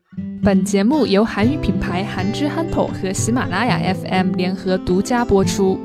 本节目由韩语品牌韩之憨头和喜马拉雅 FM 联合独家播出。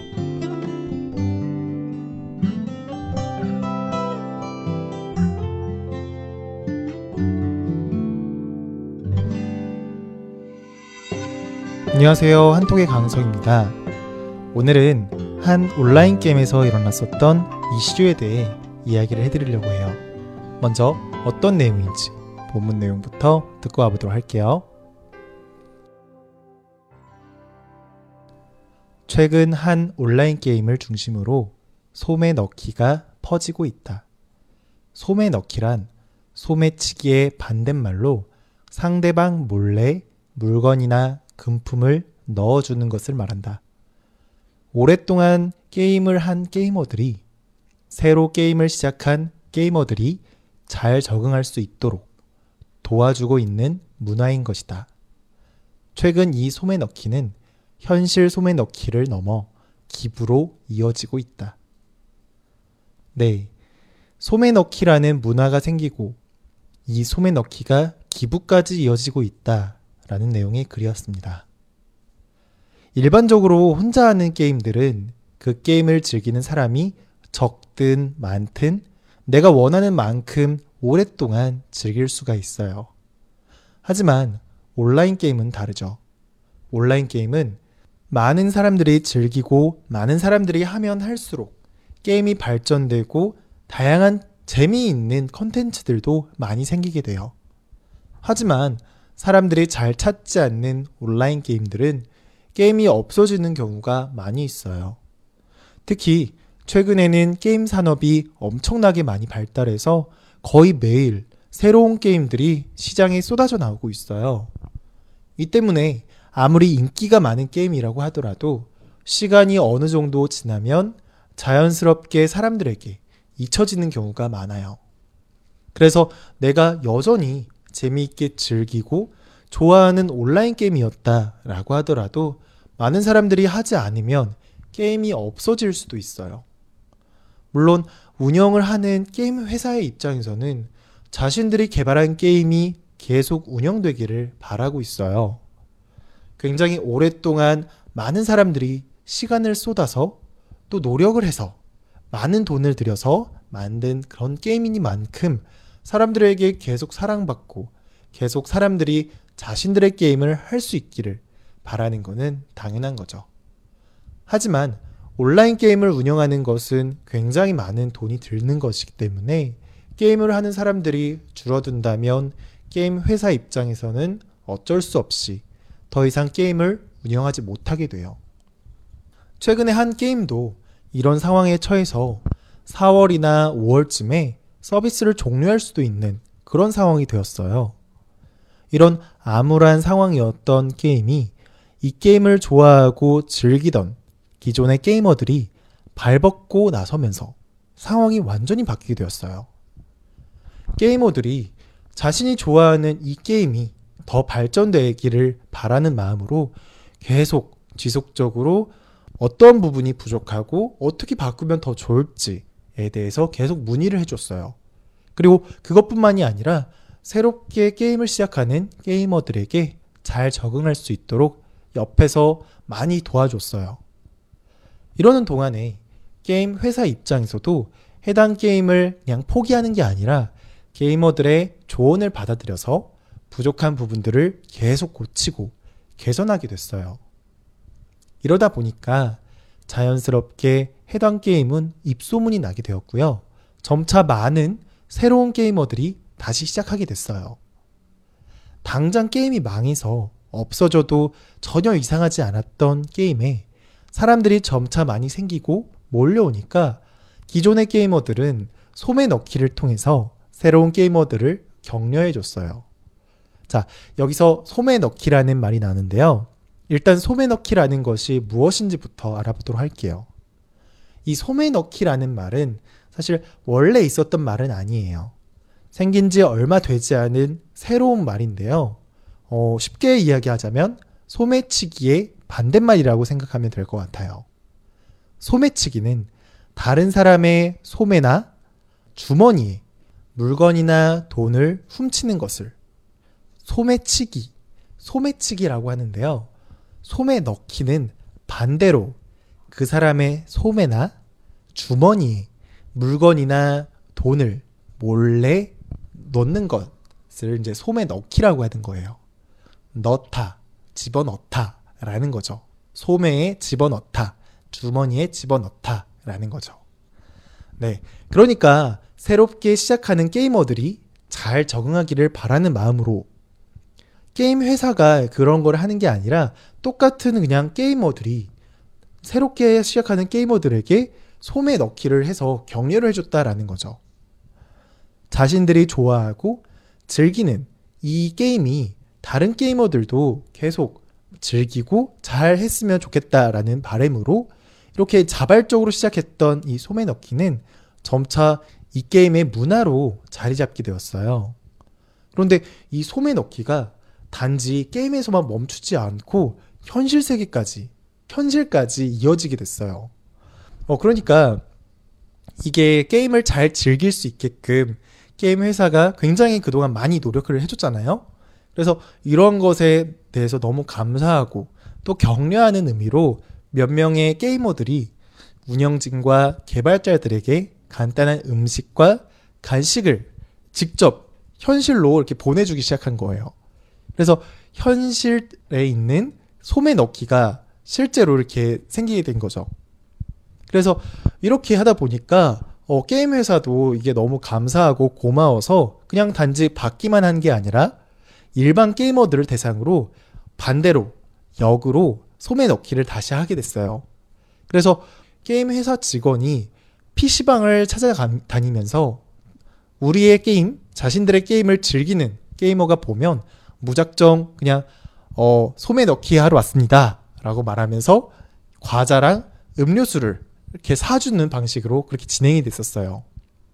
안녕하세요. 한톡의 강성입니다. 오늘은 한 온라인 게임에서 일어났었던 이슈에 대해 이야기를 해드리려고 해요. 먼저 어떤 내용인지 본문 내용부터 듣고 와보도록 할게요. 최근 한 온라인 게임을 중심으로 소매 넣기가 퍼지고 있다. 소매 넣기란 소매치기의 반대말로 상대방 몰래 물건이나 금품을 넣어주는 것을 말한다. 오랫동안 게임을 한 게이머들이 새로 게임을 시작한 게이머들이 잘 적응할 수 있도록 도와주고 있는 문화인 것이다. 최근 이 소매 넣기는 현실 소매 넣기를 넘어 기부로 이어지고 있다. 네, 소매 넣기라는 문화가 생기고 이 소매 넣기가 기부까지 이어지고 있다라는 내용의 글이었습니다. 일반적으로 혼자 하는 게임들은 그 게임을 즐기는 사람이 적든 많든 내가 원하는 만큼 오랫동안 즐길 수가 있어요. 하지만 온라인 게임은 다르죠. 온라인 게임은 많은 사람들이 즐기고 많은 사람들이 하면 할수록 게임이 발전되고 다양한 재미있는 컨텐츠들도 많이 생기게 돼요. 하지만 사람들이 잘 찾지 않는 온라인 게임들은 게임이 없어지는 경우가 많이 있어요. 특히 최근에는 게임 산업이 엄청나게 많이 발달해서 거의 매일 새로운 게임들이 시장에 쏟아져 나오고 있어요. 이 때문에 아무리 인기가 많은 게임이라고 하더라도 시간이 어느 정도 지나면 자연스럽게 사람들에게 잊혀지는 경우가 많아요. 그래서 내가 여전히 재미있게 즐기고 좋아하는 온라인 게임이었다라고 하더라도 많은 사람들이 하지 않으면 게임이 없어질 수도 있어요. 물론 운영을 하는 게임 회사의 입장에서는 자신들이 개발한 게임이 계속 운영되기를 바라고 있어요. 굉장히 오랫동안 많은 사람들이 시간을 쏟아서 또 노력을 해서 많은 돈을 들여서 만든 그런 게임이니만큼 사람들에게 계속 사랑받고 계속 사람들이 자신들의 게임을 할 수 있기를 바라는 것은 당연한 거죠. 하지만 온라인 게임을 운영하는 것은 굉장히 많은 돈이 드는 것이기 때문에 게임을 하는 사람들이 줄어든다면 게임 회사 입장에서는 어쩔 수 없이 더 이상 게임을 운영하지 못하게 돼요. 최근에 한 게임도 이런 상황에 처해서 4월이나 5월쯤에 서비스를 종료할 수도 있는 그런 상황이 되었어요. 이런 암울한 상황이었던 게임이 이 게임을 좋아하고 즐기던 기존의 게이머들이 발벗고 나서면서 상황이 완전히 바뀌게 되었어요. 게이머들이 자신이 좋아하는 이 게임이 더 발전되기를 바라는 마음으로 계속 지속적으로 어떤 부분이 부족하고 어떻게 바꾸면 더 좋을지에 대해서 계속 문의를 해줬어요. 그리고 그것뿐만이 아니라 새롭게 게임을 시작하는 게이머들에게 잘 적응할 수 있도록 옆에서 많이 도와줬어요. 이러는 동안에 게임 회사 입장에서도 해당 게임을 그냥 포기하는 게 아니라 게이머들의 조언을 받아들여서 부족한 부분들을 계속 고치고 개선하게 됐어요. 이러다 보니까 자연스럽게 해당 게임은 입소문이 나게 되었고요. 점차 많은 새로운 게이머들이 다시 시작하게 됐어요. 당장 게임이 망해서 없어져도 전혀 이상하지 않았던 게임에 사람들이 점차 많이 생기고 몰려오니까 기존의 게이머들은 소매 넣기를 통해서 새로운 게이머들을 격려해줬어요. 자, 여기서 소매 넣기라는 말이 나는데요. 일단 소매 넣기라는 것이 무엇인지부터 알아보도록 할게요. 이 소매 넣기라는 말은 사실 원래 있었던 말은 아니에요. 생긴 지 얼마 되지 않은 새로운 말인데요. 쉽게 이야기하자면 소매치기의 반대말이라고 생각하면 될 것 같아요. 소매치기는 다른 사람의 소매나 주머니에 물건이나 돈을 훔치는 것을 소매치기, 소매치기라고 하는데요. 소매 넣기는 반대로 그 사람의 소매나 주머니에 물건이나 돈을 몰래 넣는 것을 이제 소매 넣기라고 하는 거예요. 넣다, 집어넣다 라는 거죠. 소매에 집어넣다, 주머니에 집어넣다 라는 거죠. 네, 그러니까 새롭게 시작하는 게이머들이 잘 적응하기를 바라는 마음으로 게임 회사가 그런 걸 하는 게 아니라 똑같은 그냥 게이머들이 새롭게 시작하는 게이머들에게 소매 넣기를 해서 격려를 해줬다라는 거죠. 자신들이 좋아하고 즐기는 이 게임이 다른 게이머들도 계속 즐기고 잘 했으면 좋겠다라는 바람으로 이렇게 자발적으로 시작했던 이 소매 넣기는 점차 이 게임의 문화로 자리 잡게 되었어요. 그런데 이 소매 넣기가 단지 게임에서만 멈추지 않고 현실 세계까지, 현실까지 이어지게 됐어요. 그러니까 이게 게임을 잘 즐길 수 있게끔 게임 회사가 굉장히 그동안 많이 노력을 해줬잖아요. 그래서 이런 것에 대해서 너무 감사하고 또 격려하는 의미로 몇 명의 게이머들이 운영진과 개발자들에게 간단한 음식과 간식을 직접 현실로 이렇게 보내주기 시작한 거예요. 그래서 현실에 있는 소매 넣기가 실제로 이렇게 생기게 된 거죠. 그래서 이렇게 하다 보니까 게임 회사도 이게 너무 감사하고 고마워서 그냥 단지 받기만 한 게 아니라 일반 게이머들을 대상으로 반대로 역으로 소매 넣기를 다시 하게 됐어요. 그래서 게임 회사 직원이 PC방을 찾아다니면서 우리의 게임, 자신들의 게임을 즐기는 게이머가 보면 무작정 그냥 소매 넣기 하러 왔습니다 라고 말하면서 과자랑 음료수를 이렇게 사주는 방식으로 그렇게 진행이 됐었어요.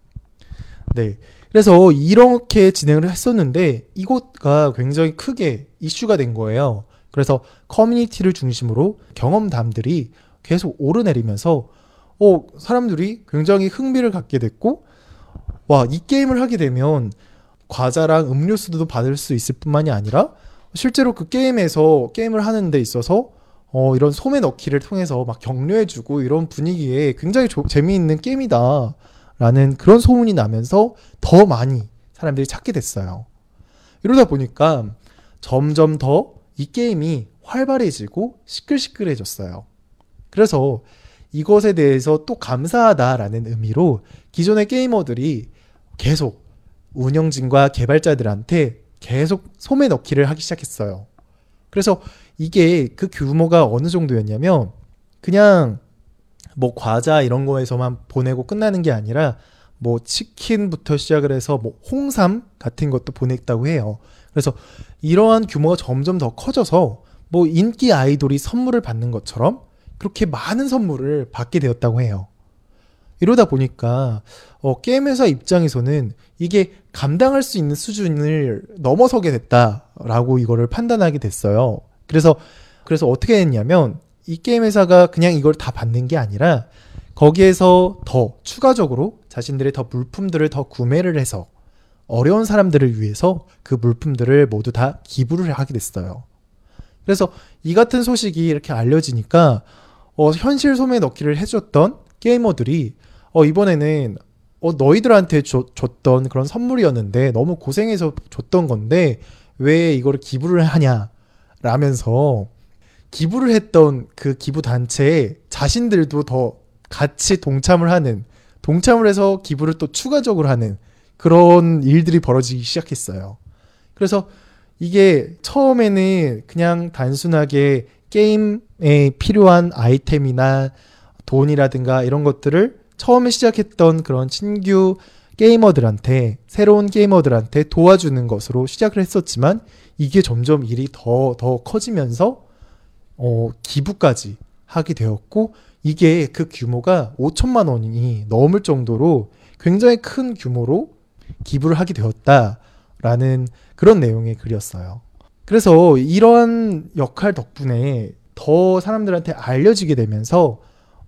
네, 그래서 이렇게 진행을 했었는데 이것가 굉장히 크게 이슈가 된 거예요. 그래서 커뮤니티를 중심으로 경험담들이 계속 오르내리면서 사람들이 굉장히 흥미를 갖게 됐고, 와, 이 게임을 하게 되면 과자랑 음료수도 받을 수 있을 뿐만이 아니라 실제로 그 게임에서 게임을 하는 데 있어서 이런 소매 넣기를 통해서 막 격려해주고 이런 분위기에 굉장히 재미있는 게임이다 라는 그런 소문이 나면서 더 많이 사람들이 찾게 됐어요. 이러다 보니까 점점 더 이 게임이 활발해지고 시끌시끌해졌어요. 그래서 이것에 대해서 또 감사하다라는 의미로 기존의 게이머들이 계속 운영진과 개발자들한테 계속 소매 넣기를 하기 시작했어요. 그래서 이게 그 규모가 어느 정도였냐면 그냥 뭐 과자 이런 거에서만 보내고 끝나는 게 아니라 뭐 치킨부터 시작을 해서 뭐 홍삼 같은 것도 보냈다고 해요. 그래서 이러한 규모가 점점 더 커져서 뭐 인기 아이돌이 선물을 받는 것처럼 그렇게 많은 선물을 받게 되었다고 해요. 이러다 보니까 게임 회사 입장에서는 이게 감당할 수 있는 수준을 넘어서게 됐다라고 이거를 판단하게 됐어요. 그래서 어떻게 했냐면 이 게임 회사가 그냥 이걸 다 받는 게 아니라 거기에서 더 추가적으로 자신들의 더 물품들을 더 구매를 해서 어려운 사람들을 위해서 그 물품들을 모두 다 기부를 하게 됐어요. 그래서 이 같은 소식이 이렇게 알려지니까 현실 소매 넣기를 해줬던 게이머들이 이번에는 너희들한테 줬던 그런 선물이었는데 너무 고생해서 줬던 건데 왜 이거를 기부를 하냐 라면서 기부를 했던 그 기부 단체에 자신들도 더 같이 동참을 해서 기부를 또 추가적으로 하는 그런 일들이 벌어지기 시작했어요. 그래서 이게 처음에는 그냥 단순하게 게임에 필요한 아이템이나 돈이라든가 이런 것들을 처음에 시작했던 그런 신규 게이머들한테, 새로운 게이머들한테 도와주는 것으로 시작을 했었지만 이게 점점 일이 더 커지면서 기부까지 하게 되었고, 이게 그 규모가 5천만 원이 넘을 정도로 굉장히 큰 규모로 기부를 하게 되었다라는 그런 내용의 글이었어요. 그래서 이러한 역할 덕분에 더 사람들한테 알려지게 되면서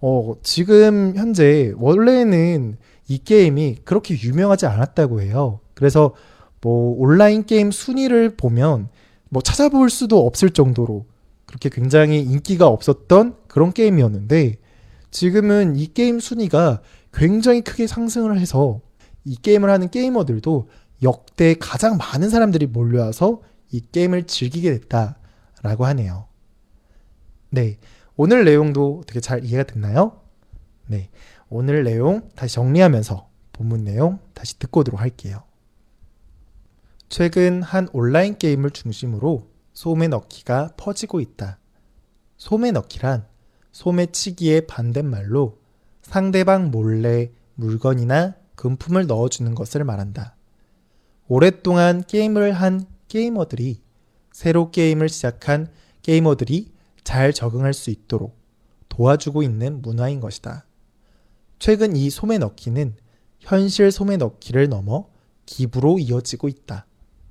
지금 현재 원래는 이 게임이 그렇게 유명하지 않았다고 해요. 그래서 뭐 온라인 게임 순위를 보면 뭐 찾아볼 수도 없을 정도로 그렇게 굉장히 인기가 없었던 그런 게임이었는데 지금은 이 게임 순위가 굉장히 크게 상승을 해서 이 게임을 하는 게이머들도 역대 가장 많은 사람들이 몰려와서 이 게임을 즐기게 됐다라고 하네요. 네, 오늘 내용도 어떻게 잘 이해가 됐나요? 네, 오늘 내용 다시 정리하면서 본문 내용 다시 듣고 오도록 할게요. 최근 한 온라인 게임을 중심으로 소매넣기가 퍼지고 있다. 소매넣기란 소매치기의 반대말로 상대방 몰래 물건이나 금품을 넣어주는 것을 말한다. 오랫동안 게임을 한 게이머들이 새로 게임을 시작한 게이머들이 잘 적응할 수 있도록 도와주고 있는 문화인 것이다. 최근 이 소매넣기는 현실 소매넣기를 넘어 기부로 이어지고 있다.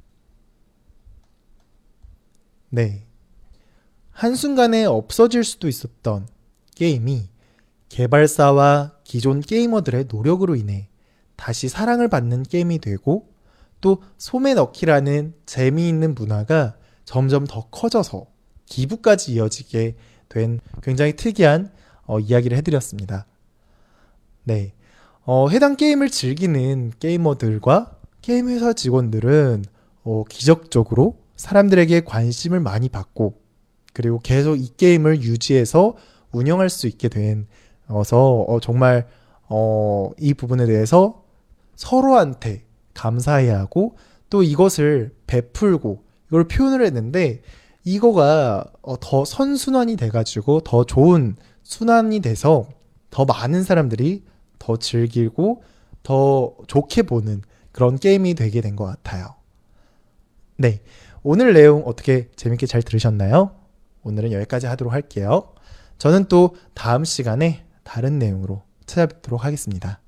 네. 한순간에 없어질 수도 있었던 게임이 개발사와 기존 게이머들의 노력으로 인해 다시 사랑을 받는 게임이 되고 또 소매넣기라는 재미있는 문화가 점점 더 커져서 기부까지 이어지게 된 굉장히 특이한 이야기를 해드렸습니다. 네. 해당 게임을 즐기는 게이머들과 게임 회사 직원들은 기적적으로 사람들에게 관심을 많이 받고 그리고 계속 이 게임을 유지해서 운영할 수 있게 돼서 정말 이 부분에 대해서 서로한테 감사해야 하고 또 이것을 베풀고 이걸 표현을 했는데 이거가 더 선순환이 돼가지고 더 좋은 순환이 돼서 더 많은 사람들이 더 즐기고 더 좋게 보는 그런 게임이 되게 된 것 같아요. 네, 오늘 내용 어떻게 재밌게 잘 들으셨나요? 오늘은 여기까지 하도록 할게요. 저는 또 다음 시간에 다른 내용으로 찾아뵙도록 하겠습니다.